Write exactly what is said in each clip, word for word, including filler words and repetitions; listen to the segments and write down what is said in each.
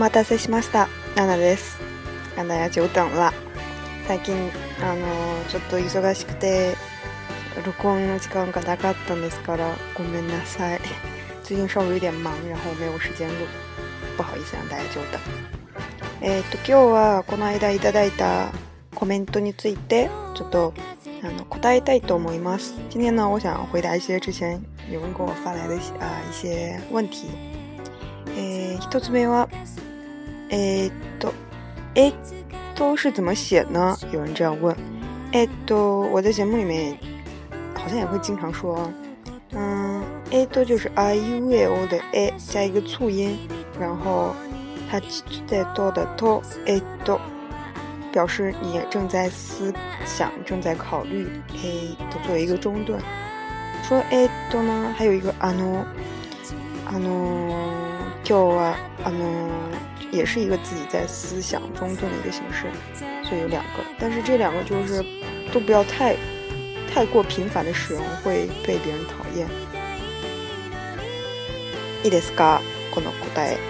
待たせしました。ナナです。让大家久等了。最近あのちょっと忙しくて録音の時間がなかったんですからごめんなさい。最近稍微有点忙，然后没有时间录，不好意思让大家久等。えっと今日はこの間いただいたコメントについてちょっとあの答えたいと思います。今天呢，我想回答一些之前有人给我发来的啊、呃、一些问题。えー、一つ目はえー、っとえっと是怎么写呢？有人这样问。えっと我在节目里面好像也会经常说，嗯，えっと就是あいうえお的え加一个促音，然后它在多的とえっと表示你正在思想，正在考虑，えっと作为一个中断。说えっと呢，还有一个あのあの今日はあの也是一个自己在思想中断的一个形式，所以有两个，但是这两个就是都不要太太过频繁的使用，会被別人讨厌。いいですか？この答え。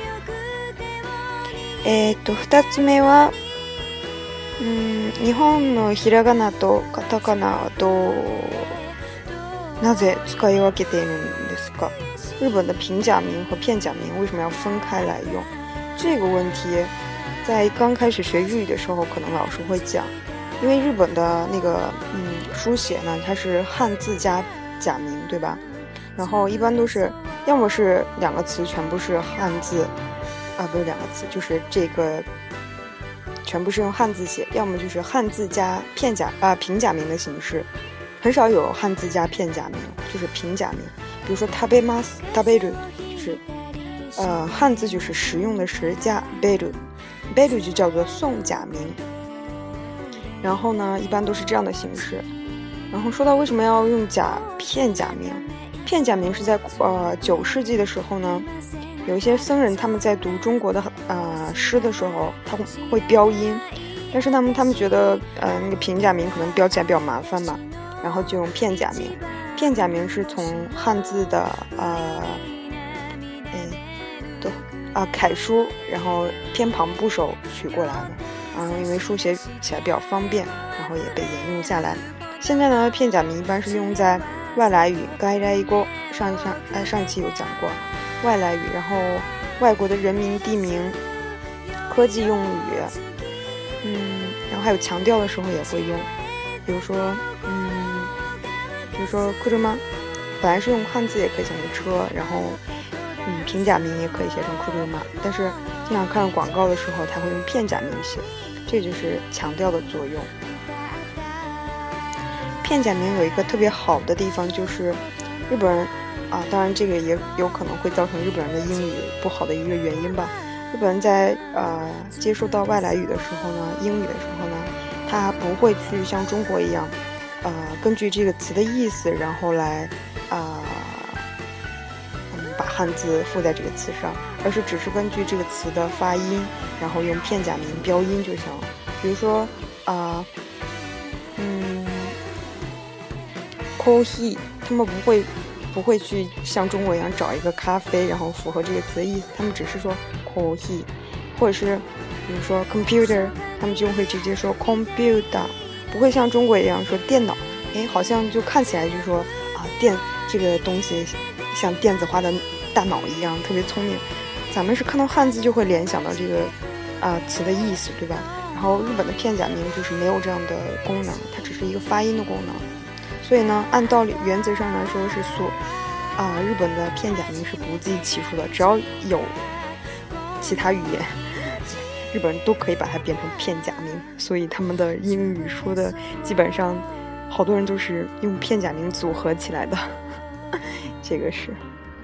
えっと二つ目は、うーん、日本のひらがなとカタカナはどうなぜ使い分けているんですか？日本的平假名和片假名为什么要分开来用？这个问题在刚开始学日语的时候可能老师会讲，因为日本的那个嗯书写呢，它是汉字加假名，对吧？然后一般都是要么是两个词全部是汉字啊，不是两个词，就是这个全部是用汉字写，要么就是汉字加片假啊平假名的形式，很少有汉字加片假名，就是平假名。比如说食べます、食べる，就是呃汉字就是食用的食加べる，べる就叫做送假名。然后呢，一般都是这样的形式。然后说到为什么要用假片假名，片假名是在呃九世纪的时候呢，有一些僧人他们在读中国的呃诗的时候，他会标音，但是他们他们觉得呃那个平假名可能标起来比较麻烦嘛，然后就用片假名。片假名是从汉字的呃哎都啊楷书，然后偏旁部首取过来的，然后因为书写起来比较方便，然后也被沿用下来。现在呢，片假名一般是用在外来语，外来语上上哎上一期有讲过外来语，然后外国的人名、地名、科技用语，嗯，然后还有强调的时候也会用，比如说嗯。比如说车吗，本来是用汉字也可以写成车，然后嗯平假名也可以写成车吗，但是经常看广告的时候他会用片假名写，这就是强调的作用。片假名有一个特别好的地方，就是日本人啊，当然这个也有可能会造成日本人的英语不好的一个原因吧。日本人在呃接受到外来语的时候呢，英语的时候呢，他不会去像中国一样呃，根据这个词的意思，然后来啊、呃，嗯，把汉字附在这个词上，而是只是根据这个词的发音，然后用片假名标音就行了。比如说啊、呃，嗯 ，coffee， 他们不会不会去像中国一样找一个咖啡，然后符合这个词的意思，他们只是说 coffee， 或者是比如说 computer， 他们就会直接说 computer。不会像中国一样说电脑，哎，好像就看起来就说啊电这个东西像电子化的大脑一样特别聪明。咱们是看到汉字就会联想到这个啊词的意思，对吧？然后日本的片假名就是没有这样的功能，它只是一个发音的功能。所以呢，按道理原则上来说是所啊日本的片假名是不计其数的，只要有其他语言。日本人都可以把它变成片假名，所以他们的英语说的基本上好多人都是用片假名组合起来的。这个是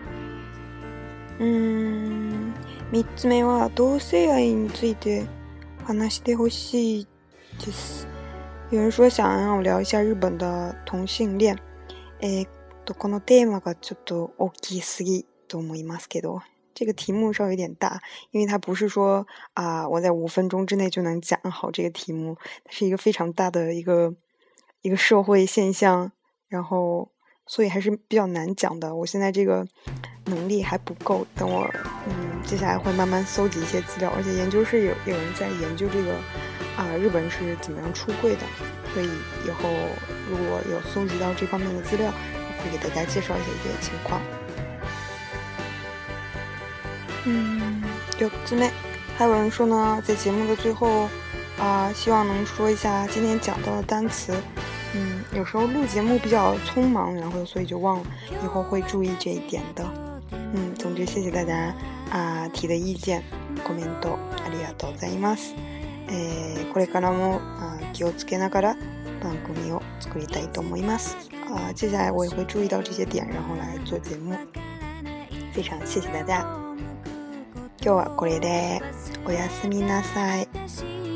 嗯三つ目は同性愛について話してほしいです。有人说想让我聊一下日本的同性恋。えー、っとこのテーマがちょっと大きすぎと思いますけど。这个题目稍微有点大，因为它不是说啊、呃，我在五分钟之内就能讲好这个题目，它是一个非常大的一个一个社会现象，然后所以还是比较难讲的。我现在这个能力还不够，等我嗯接下来会慢慢搜集一些资料，而且研究室有有人在研究这个啊、呃、日本是怎么样出柜的，所以以后如果有搜集到这方面的资料，我会给大家介绍一下这些情况。嗯，有姊妹还有人说呢，在节目的最后啊、呃，希望能说一下今天讲到的单词。嗯，有时候录节目比较匆忙，然后所以就忘了，以后会注意这一点的。嗯，总之谢谢大家啊、呃、提的意见。コメントありがとうございます。えー、これからもあ気をつけながら番組を作りたいと思います。啊、呃，接下来我也会注意到这些点，然后来做节目。非常谢谢大家。今日はこれでおやすみなさい。